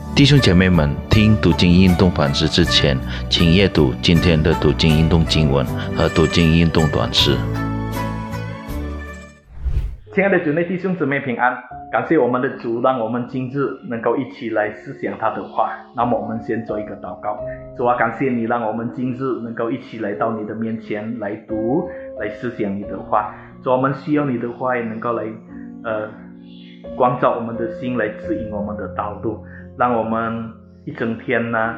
弟兄姐妹们，听读经运动反思之前，请阅读今天的读经运动经文和读经运动短诗。 亲爱的主内弟兄姊妹平安，感谢我们的主，让我们今日能够一起来思想他的话。那么我们先做一个祷告。主啊，感谢你让我们今日能够一起来到你的面前来读，来思想你的话。主，我们需要你的话也能够来光照我们的心，来指引我们的道路，让我们一整天的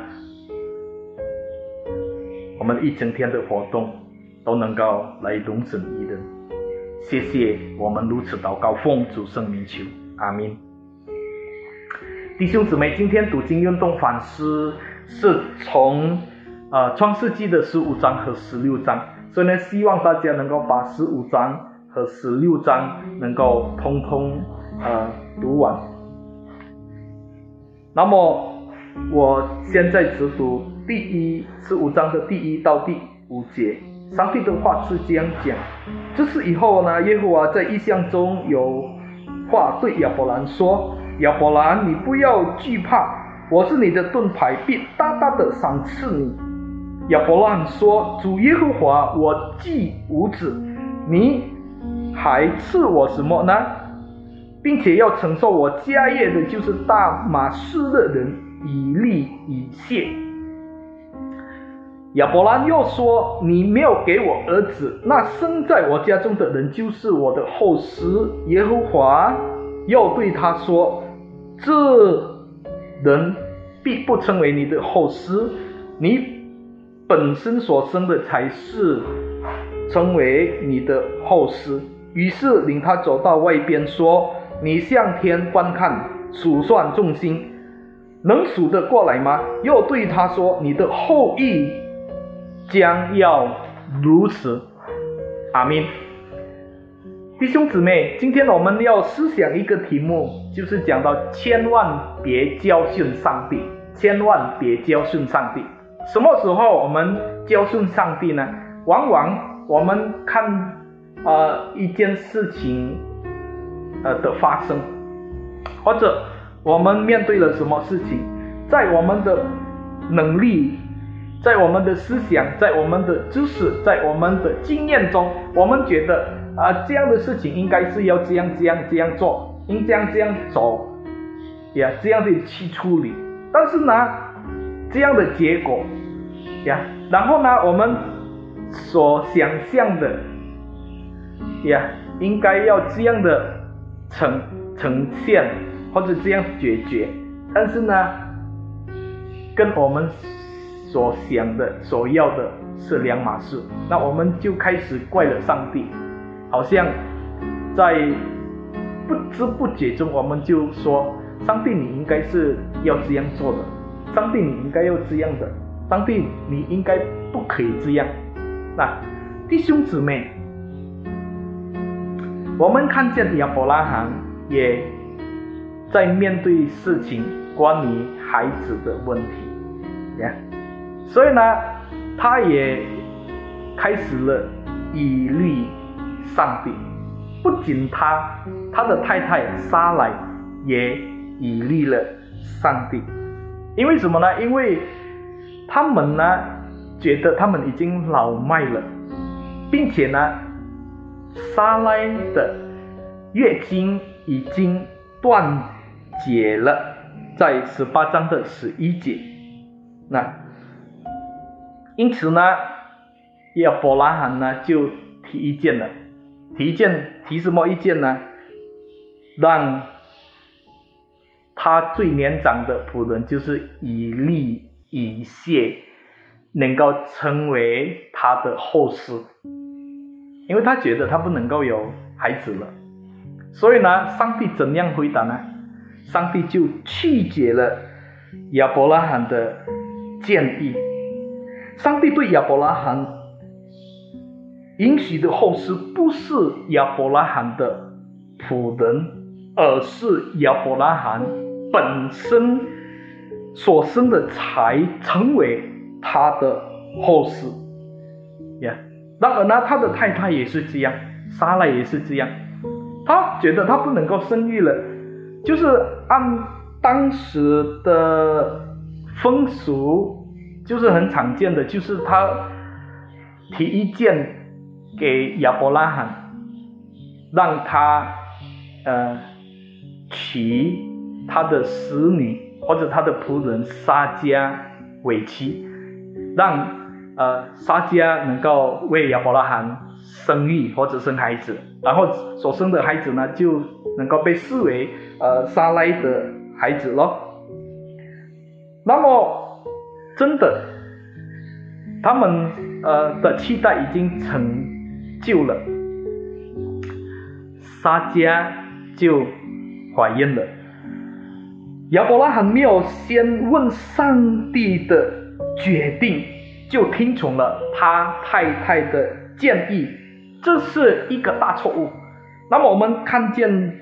活动都能够来荣神你的。谢谢，我们如此祷告，奉主圣名求，阿们。弟兄姊妹，今天读经运动反思是从创世纪的15章和16章，所以呢，希望大家能够把15章和16章能够通通读完。那么我现在只读15章的第1到第5节。上帝的话是这样讲：这是以后呢，耶和华在异象中有话对亚伯兰说：亚伯兰，你不要惧怕，我是你的盾牌，必大大的赏赐你。亚伯兰说：主耶和华，我既无子，你还赐我什么呢？并且要承受我家业的，就是大马士的人以利以谢。亚伯兰又说：你没有给我儿子，那生在我家中的人就是我的后嗣。耶和华又对他说：这人必不称为你的后嗣，你本身所生的才是称为你的后嗣。于是领他走到外边，说：你向天观看，数算众星，能数得过来吗？又对他说：你的后裔将要如此。阿们。弟兄姊妹，今天我们要思想一个题目，就是讲到千万别教训上帝，千万别教训上帝。什么时候我们教训上帝呢？往往我们看一件事情的发生，或者我们面对了什么事情，在我们的能力，在我们的思想，在我们的知识，在我们的经验中，我们觉得这样的事情应该是要这样做，应这样走呀，这样的去处理。但是呢，这样的结果呀，然后呢，我们所想象的呀，应该要这样的呈现，或者这样解决，但是呢，跟我们所想的所要的是两码事。那我们就开始怪了上帝，好像在不知不觉中，我们就说：上帝你应该是要这样做的，上帝你应该要这样的，上帝你应该不可以这样。那弟兄姊妹，我们看见亚伯拉罕也在面对事情关于孩子的问题，所以呢，他也开始了以利上帝。不仅他的太太撒莱也以利了上帝。因为什么呢？因为他们呢觉得他们已经老迈了，并且呢，撒莱的月经已经断绝了，在18章的11节。那因此呢，亚伯拉罕呢就提意见了。提什么意见呢？让他最年长的仆人，就是以利以谢，能够成为他的后嗣。因为他觉得他不能够有孩子了，所以呢，上帝怎样回答呢？上帝就拒绝了亚伯拉罕的建议。上帝对亚伯拉罕允许的后嗣不是亚伯拉罕的仆人，而是亚伯拉罕本身所生的才成为他的后嗣。然而呢，他的太太也是这样，撒拉也是这样。他觉得他不能够生育了，就是按当时的风俗就是很常见的，就是他提意见给亚伯拉罕，让他娶他的使女或者他的仆人撒迦为妻，让撒迦能够为亚伯拉罕生育或者生孩子，然后所生的孩子呢就能够被视为撒拉的孩子咯。那么真的他们的期待已经成就了，撒迦就怀孕了。亚伯拉罕没有先问上帝的决定，就听从了他太太的建议，这是一个大错误。那么我们看见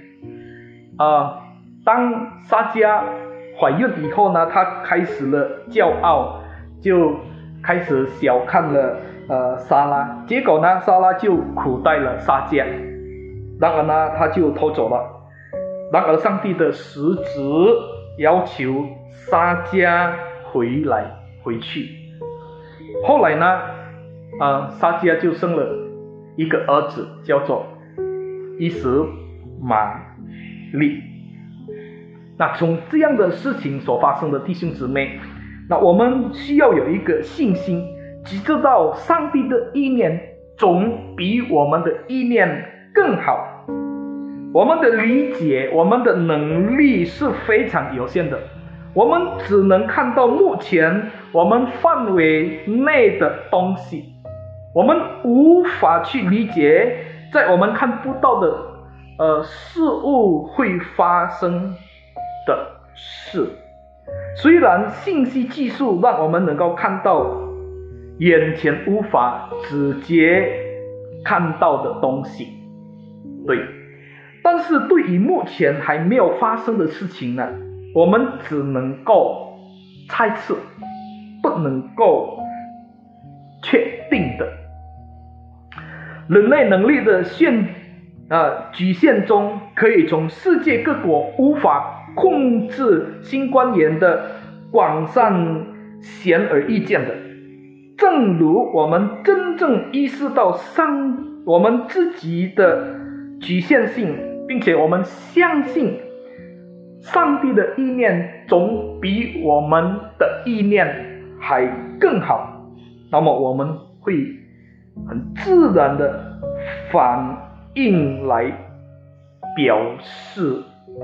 当撒迦怀孕以后呢，他开始了骄傲，就开始小看了撒拉，结果呢撒拉就苦待了撒迦，然而呢他就偷走了。然而上帝的使者要求撒迦回去。后来呢撒迦就生了一个儿子，叫做以实玛利。那从这样的事情所发生的弟兄姊妹，那我们需要有一个信心，只知道上帝的意念总比我们的意念更好。我们的理解，我们的能力是非常有限的，我们只能看到目前我们范围内的东西，我们无法去理解在我们看不到的事物会发生的事。虽然信息技术让我们能够看到眼前无法直接看到的东西，对，但是对于目前还没有发生的事情呢，我们只能够猜测，不能够确定的。人类能力的局限中，可以从世界各国无法控制新冠炎的广泛显而易见的。正如我们真正意识到我们自己的局限性，并且我们相信上帝的意念总比我们的意念还更好，那么我们会很自然的反应来表示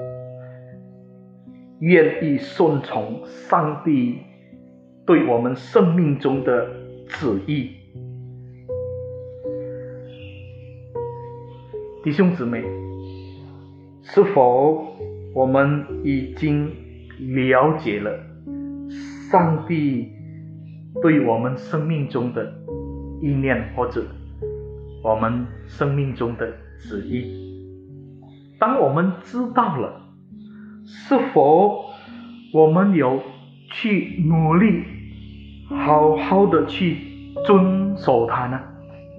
愿意顺从上帝对我们生命中的旨意。弟兄姊妹，是否我们已经了解了上帝对我们生命中的意念，或者我们生命中的旨意？当我们知道了，是否我们有去努力好好的去遵守它呢？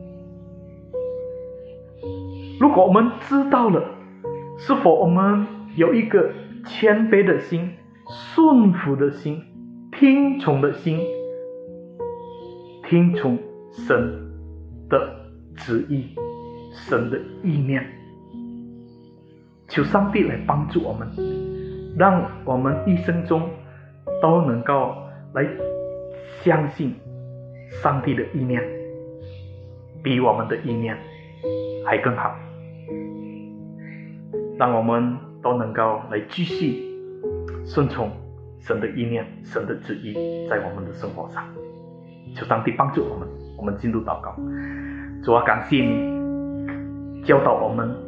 如果我们知道了，是否我们有一个谦卑的心、顺服的心、听从的心，听从神的旨意、神的意念？求上帝来帮助我们，让我们一生中都能够来相信上帝的意念比我们的意念还更好，让我们都能够来继续顺从神的意念、神的旨意在我们的生活上。求上帝帮助我们。我们进入祷告。主啊，感谢你教导我们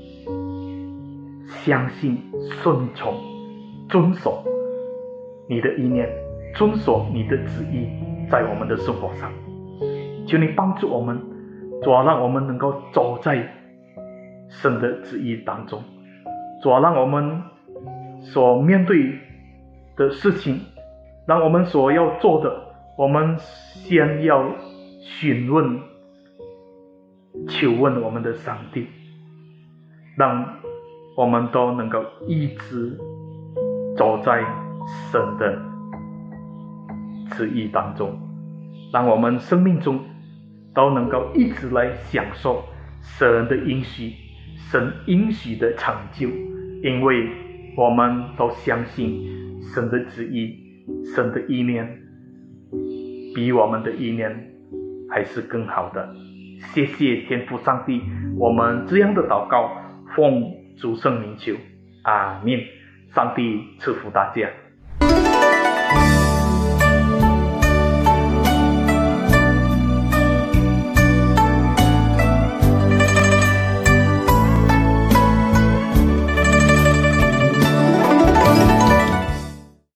相信、顺从、遵守你的意念，遵守你的旨意在我们的生活上。求你帮助我们，主啊，让我们能够走在神的旨意当中。主啊，让我们所面对的事情，让我们所要做的，我们先要询问、求问我们的上帝，让我们都能够一直走在神的旨意当中，让我们生命中都能够一直来享受神的应许，神应许的成就，因为我们都相信神的旨意，神的意念比我们的意念还是更好的。谢谢天父上帝，我们这样的祷告奉主圣名求，阿们。上帝赐福大家。